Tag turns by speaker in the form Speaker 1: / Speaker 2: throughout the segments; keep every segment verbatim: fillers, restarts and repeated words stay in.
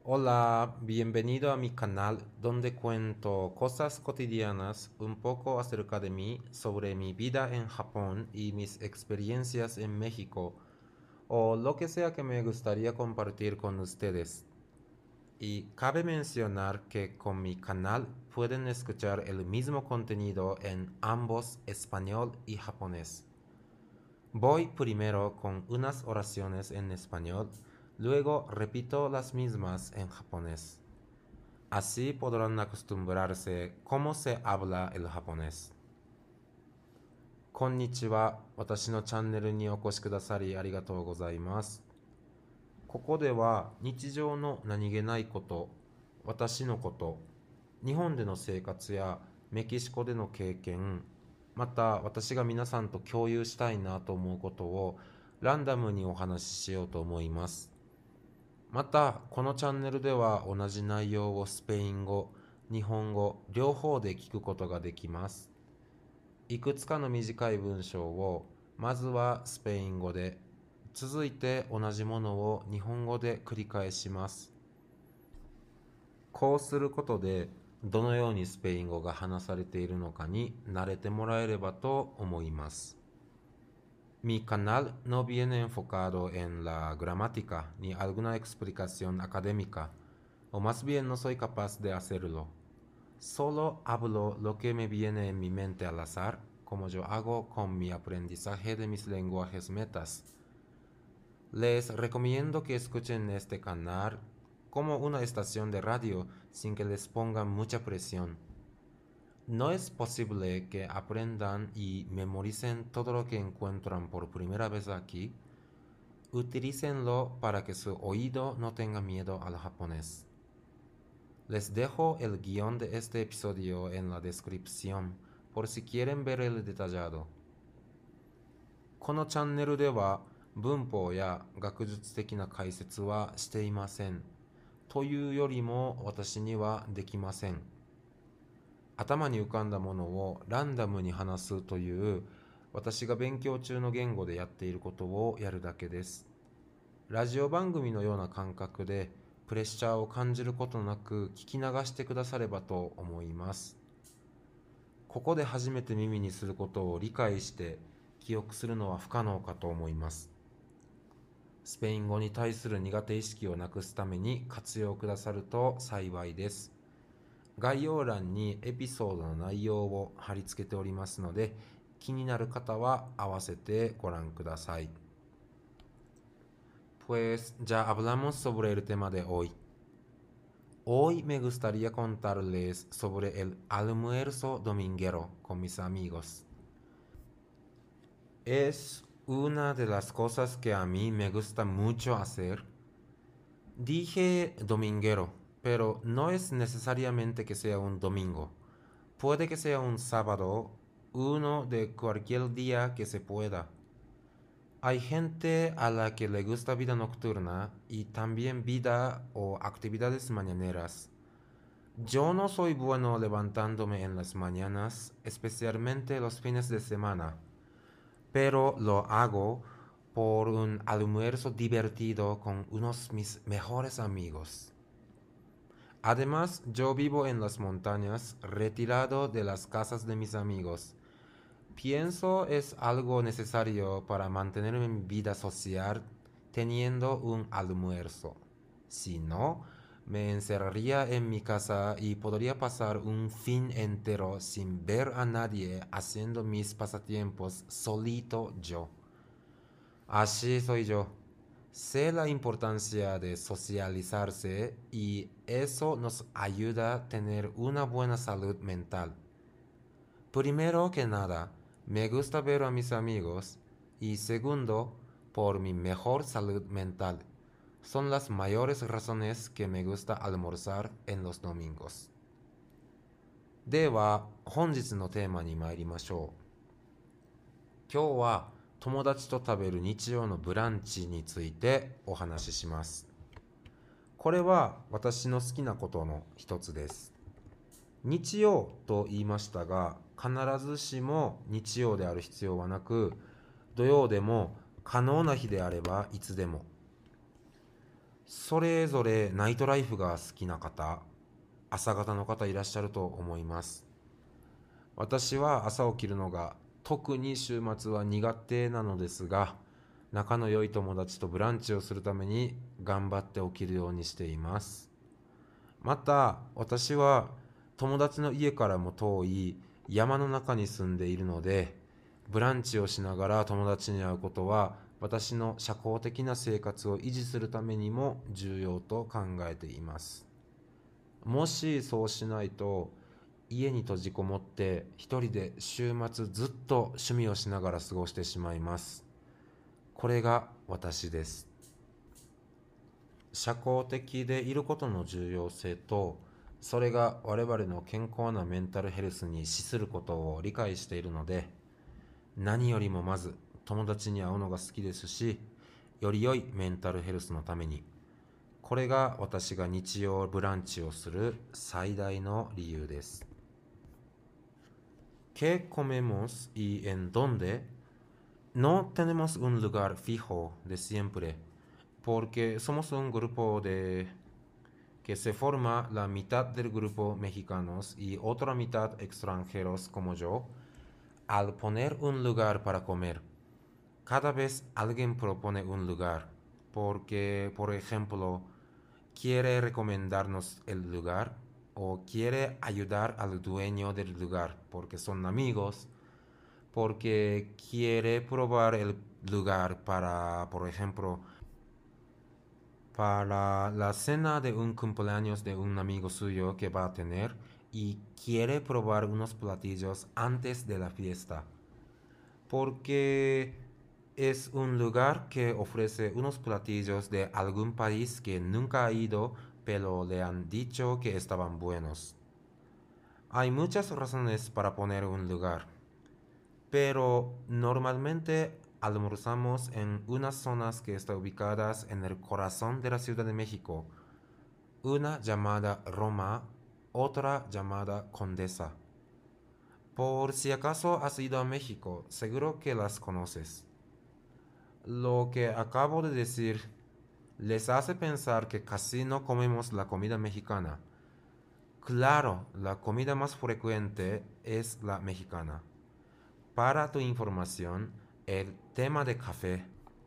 Speaker 1: Hola, bienvenido a mi canal donde cuento cosas cotidianas un poco acerca de mí, sobre mi vida en Japón y mis experiencias en México, o lo que sea que me gustaría compartir con ustedes. Y cabe mencionar que con mi canal pueden escuchar el mismo contenido en ambos español y japonés. Voy primero con unas oraciones en español, luego repito las mismas en japonés. Así podrán acostumbrarse cómo se habla el japonés. こんにちは。私のチャンネルにお越しくださりありがとうございます。ここでは日常の何気ないこと、私のこと、日本での生活やメキシコでの経験、また私が皆さんと共有したいなと思うことをランダムにお話ししようと思います。また、このチャンネルでは同じ内容をスペイン語、日本語、両方で聞くことができます。いくつかの短い文章を、まずはスペイン語で、続いて同じものを日本語で繰り返します。こうすることで、どのようにスペイン語が話されているのかに慣れてもらえればと思います。Mi canal no viene enfocado en la gramática ni alguna explicación académica, o más bien no soy capaz de hacerlo. Solo hablo lo que me viene en mi mente al azar, como yo hago con mi aprendizaje de mis lenguajes metas. Les recomiendo que escuchen este canal como una estación de radio sin que les pongan mucha presión. No es posible que aprendan y memoricen todo lo que encuentran por primera vez aquí. Utilícenlo para que su oído no tenga miedo al japonés. Les dejo el guión de este episodio en la descripción por si quieren ver el detallado. このチャンネルでは文法や学術的な解説はしていません。というよりも私にはできません。頭に浮かんだものをランダムに話すという私が勉強中の言語でやっていることをやるだけです。ラジオ番組のような感覚でプレッシャーを感じることなく聞き流してくださればと思います。ここで初めて耳にすることを理解して記憶するのは不可能かと思います。スペイン語に対する苦手意識をなくすために活用くださると幸いです。概要欄にエピソードの内容を貼り付けておりますので、気になる方は合わせてご覧ください。Pues ya hablamos sobre el tema de hoy. Hoy me gustaría contarles sobre el almuerzo dominguero con mis amigos. Es una de las cosas que a mí me gusta mucho hacer. Dije dominguero, pero no es necesariamente que sea un domingo. Puede que sea un sábado, uno de cualquier día que se pueda. Hay gente a la que le gusta vida nocturna y también vida o actividades mañaneras. Yo no soy bueno levantándome en las mañanas, especialmente los fines de semana, pero lo hago por un almuerzo divertido con unos mis mejores amigos. Además, yo vivo en las montañas, retirado de las casas de mis amigos. Pienso es algo necesario para mantener mi vida social teniendo un almuerzo. Si no, me encerraría en mi casa y podría pasar un fin entero sin ver a nadie haciendo mis pasatiempos solito yo. Así soy yo. Sé la importancia de socializarse y eso nos ayuda a tener una buena salud mental. Primero que nada, me gusta ver a mis amigos y segundo, por mi mejor salud mental. Son las mayores razones que me gusta almorzar en los domingos. では、本日のテーマに参りましょう。今日は友達と食べる日曜のブランチについてお話しします。これは私の好きなことの一つです。日曜と言いましたが、必ずしも日曜である必要はなく、土曜でも可能な日であればいつでも。 それぞれナイトライフが好きな方、朝方の方いらっしゃると思います。私は朝起きるのが特に週末は苦手なのですが、仲の良い友達とブランチをするために頑張って起きるようにしています。また私は友達の家からも遠い山の中に住んでいるので、ブランチをしながら友達に会うことは私の社交的な生活を維持するためにも重要と考えています。もしそうしないと、家に閉じこもって一人で週末ずっと趣味をしながら過ごしてしまいます。これが私です。社交的でいることの重要性と、それが我々の健康なメンタルヘルスに資することを理解しているので、何よりもまず友達に会うのが好きですし、より良いメンタルヘルスのために、これが私が日曜ブランチをする最大の理由です。¿Qué comemos y en dónde? No tenemos un lugar fijo de siempre, porque somos un grupo de que se forma la mitad del grupo mexicanos y otra mitad extranjeros como yo. Al poner un lugar para comer, cada vez alguien propone un lugar, porque, por ejemplo, quiere recomendarnos el lugar o quiere ayudar al dueño del lugar, porque son amigos, porque quiere probar el lugar para, por ejemplo, para la cena de un cumpleaños de un amigo suyo que va a tener y quiere probar unos platillos antes de la fiesta, porque es un lugar que ofrece unos platillos de algún país que nunca ha ido, pero le han dicho que estaban buenos. Hay muchas razones para poner un lugar, pero normalmente almorzamos en unas zonas que están ubicadas en el corazón de la Ciudad de México, una llamada Roma, otra llamada Condesa. Por si acaso has ido a México, seguro que las conoces. Lo que acabo de decir les hace pensar que casi no comemos la comida mexicana. Claro, la comida más frecuente es la mexicana. Para tu información, el tema de café.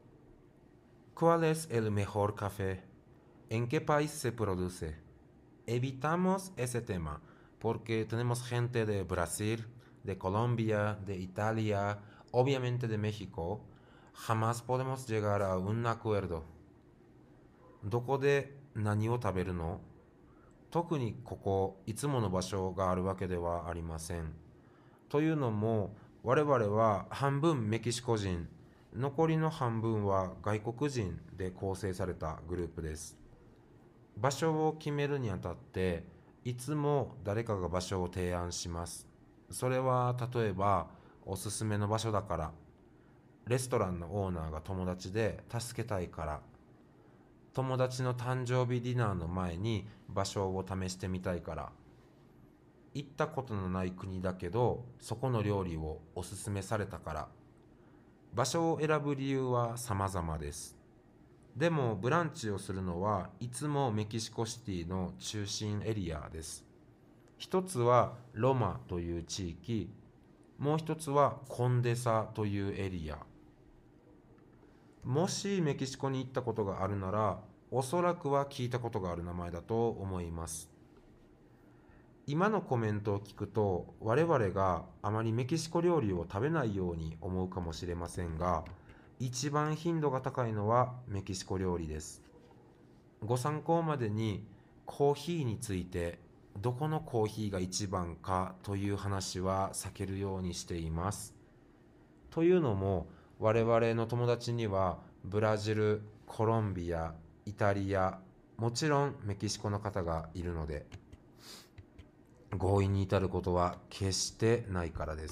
Speaker 1: ¿Cuál es el mejor café? ¿En qué país se produce? Evitamos ese tema porque tenemos gente de Brasil, de Colombia, de Italia, obviamente de México. Jamás podemos llegar a un acuerdo. どこで何を食べるの？特にここいつもの場所があるわけではありません。というのも我々は半分メキシコ人、残りの半分は外国人で構成されたグループです。場所を決めるにあたっていつも誰かが場所を提案します。それは例えばおすすめの場所だから、レストランのオーナーが友達で助けたいから、友達の誕生日ディナーの前に場所を試してみたいから、行ったことのない国だけどそこの料理をおすすめされたから。場所を選ぶ理由は様々です。でもブランチをするのはいつもメキシコシティの中心エリアです。一つはロマという地域、もう一つはコンデサというエリア。もしメキシコに行ったことがあるなら、おそらくは聞いたことがある名前だと思います。今のコメントを聞くと、我々があまりメキシコ料理を食べないように思うかもしれませんが、一番頻度が高いのはメキシコ料理です。ご参考までにコーヒーについて、どこのコーヒーが一番かという話は避けるようにしています。というのも、我々の友達にはブラジル、コロンビア、イタリア、もちろんメキシコの方がいるので、合意に至ることは決してないからです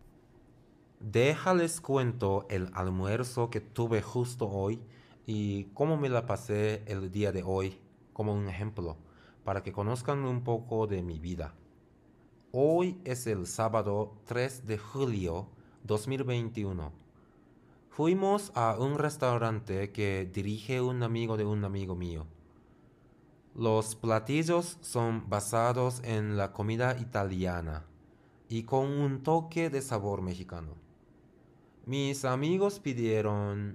Speaker 1: 。Déjales cuento el almuerzo que tuve justo hoy y cómo me la pasé el día de hoy como un ejemplo, para que conozcan un poco de mi vida. Hoy es el sábado tres de julio dos mil veintiuno. Fuimos a un restaurante que dirige un amigo de un amigo mío. Los platillos son basados en la comida italiana y con un toque de sabor mexicano. Mis amigos pidieron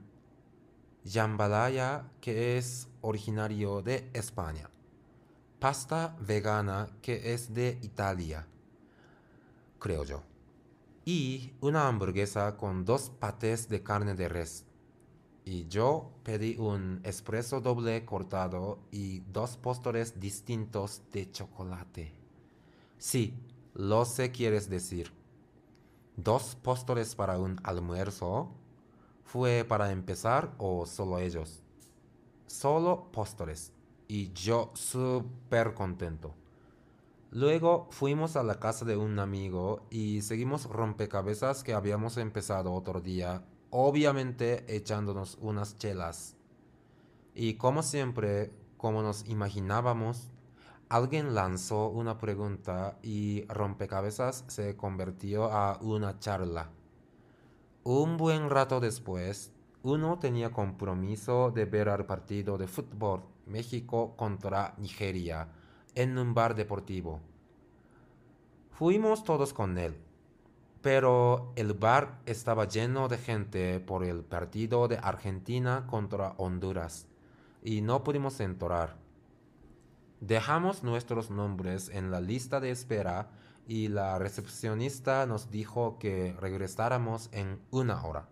Speaker 1: jambalaya, que es originario de España, pasta vegana, que es de Italia, creo yo, y una hamburguesa con dos patés de carne de res. Y yo pedí un espresso doble cortado y dos postres distintos de chocolate. Sí, lo sé quieres decir. ¿Dos postres para un almuerzo? ¿Fue para empezar o solo ellos? Solo postres. Y yo súper contento. Luego fuimos a la casa de un amigo y seguimos rompecabezas que habíamos empezado otro día, obviamente echándonos unas chelas. Y como siempre, como nos imaginábamos, alguien lanzó una pregunta y rompecabezas se convirtió a una charla. Un buen rato después, uno tenía compromiso de ver al partido de fútbol México contra Nigeria en un bar deportivo. Fuimos todos con él, pero el bar estaba lleno de gente por el partido de Argentina contra Honduras y no pudimos entrar. Dejamos nuestros nombres en la lista de espera y la recepcionista nos dijo que regresáramos en una hora.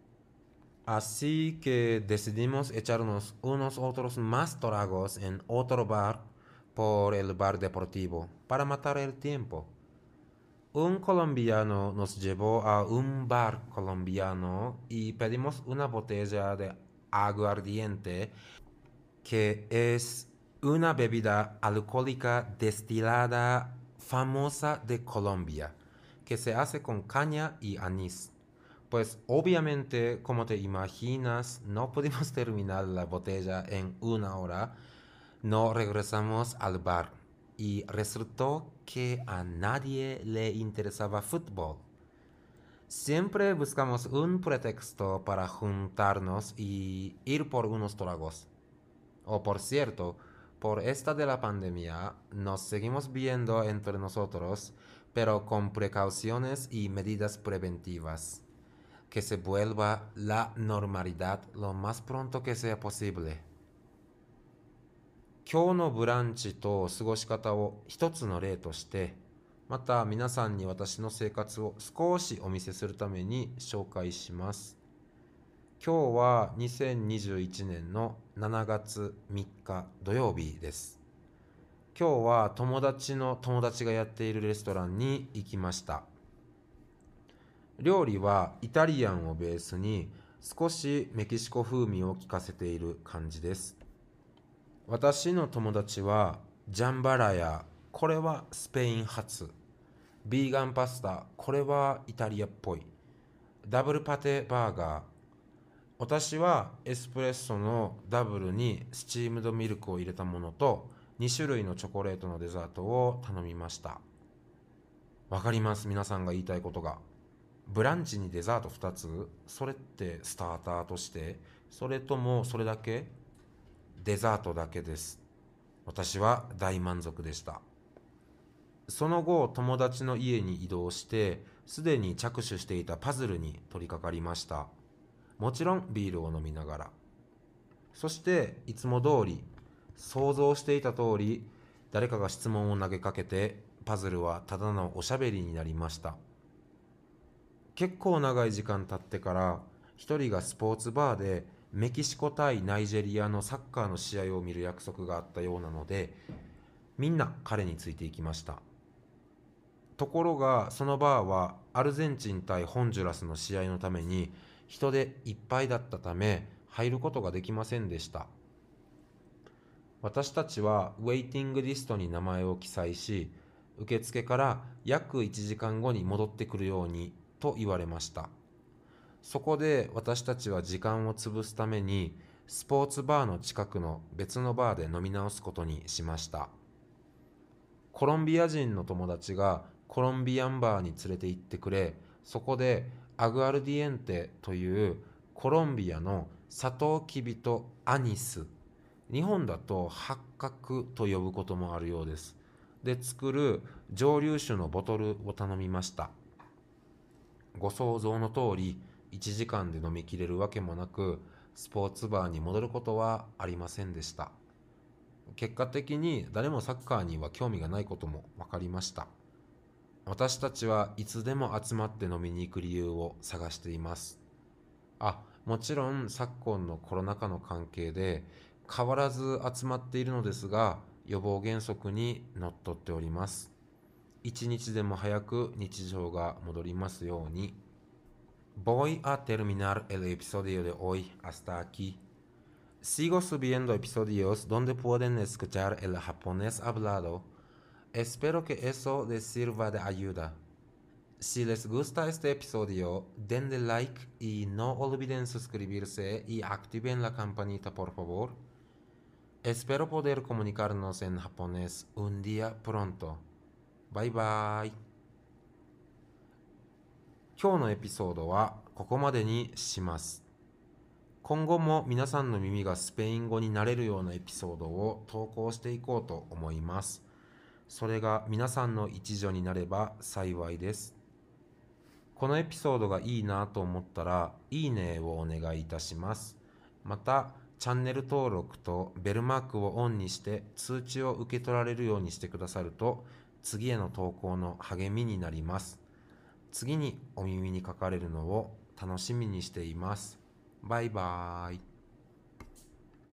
Speaker 1: Así que decidimos echarnos unos otros más tragos en otro bar por el bar deportivo para matar el tiempo. Un colombiano nos llevó a un bar colombiano y pedimos una botella de aguardiente, que es una bebida alcohólica destilada famosa de Colombia, que se hace con caña y anís. Pues obviamente, como te imaginas, no pudimos terminar la botella en una hora. No regresamos al bar y resultó que a nadie le interesaba fútbol. Siempre buscamos un pretexto para juntarnos y ir por unos tragos. O por cierto, por esta de la pandemia nos seguimos viendo entre nosotros, pero con precauciones y medidas preventivas. Que se vuelva la normalidad lo más pronto que sea posible. 今日のブランチと過ごし方を一つの例として、また皆さんに私の生活を少しお見せするために紹介します。今日はにせんにじゅういちねんのしちがつみっか土曜日です。今日は友達の友達がやっているレストランに行きました。料理はイタリアンをベースに少しメキシコ風味を効かせている感じです。私の友達はジャンバラヤ、これはスペイン発。ビーガンパスタ、これはイタリアっぽい。ダブルパテバーガー。私はエスプレッソのダブルにスチームドミルクを入れたものとに種類のチョコレートのデザートを頼みました。わかります、皆さんが言いたいことが。ブランチにデザートふたつ、それってスターターとして、それともそれだけ？デザートだけです。私は大満足でした。その後、友達の家に移動して、すでに着手していたパズルに取り掛かりました。もちろんビールを飲みながら。そしていつも通り、想像していた通り、誰かが質問を投げかけて、パズルはただのおしゃべりになりました。結構長い時間経ってから、一人がスポーツバーでメキシコ対ナイジェリアのサッカーの試合を見る約束があったようなので、みんな彼についていきました。ところがそのバーはアルゼンチン対ホンジュラスの試合のために人でいっぱいだったため入ることができませんでした。私たちはウェイティングリストに名前を記載し、受付から約いちじかんごに戻ってくるようにと言われました。そこで私たちは時間を潰すためにスポーツバーの近くの別のバーで飲み直すことにしました。コロンビア人の友達がコロンビアンバーに連れて行ってくれ、そこでアグアルディエンテというコロンビアのサトウキビとアニス、日本だと八角と呼ぶこともあるようです。で作る蒸留酒のボトルを頼みました。ご想像の通り、いちじかんで飲みきれるわけもなく、スポーツバーに戻ることはありませんでした。結果的に誰もサッカーには興味がないことも分かりました。私たちはいつでも集まって飲みに行く理由を探しています。あ、もちろん昨今のコロナ禍の関係で変わらず集まっているのですが、予防原則にのっとっております。一日でも早く日常が戻りますように。Voy a terminar el episodio de hoy hasta aquí. Sigo subiendo episodios donde pueden escuchar el japonés hablado. Espero que eso les sirva de ayuda. Si les gusta este episodio, denle like y no olviden suscribirse y activen la campanita por favor. Espero poder comunicarnos en japonés un día pronto. Bye bye. 今日のエピソードはここまでにします。今後も皆さんの耳がスペイン語になれるようなエピソードを投稿していこうと思います。それが皆さんの一助になれば幸いです。このエピソードがいいなと思ったら、いいねをお願いいたします。また、チャンネル登録とベルマークをオンにして通知を受け取られるようにしてくださると、次への投稿の励みになります。次にお耳にかかれるのを楽しみにしています。バイバーイ。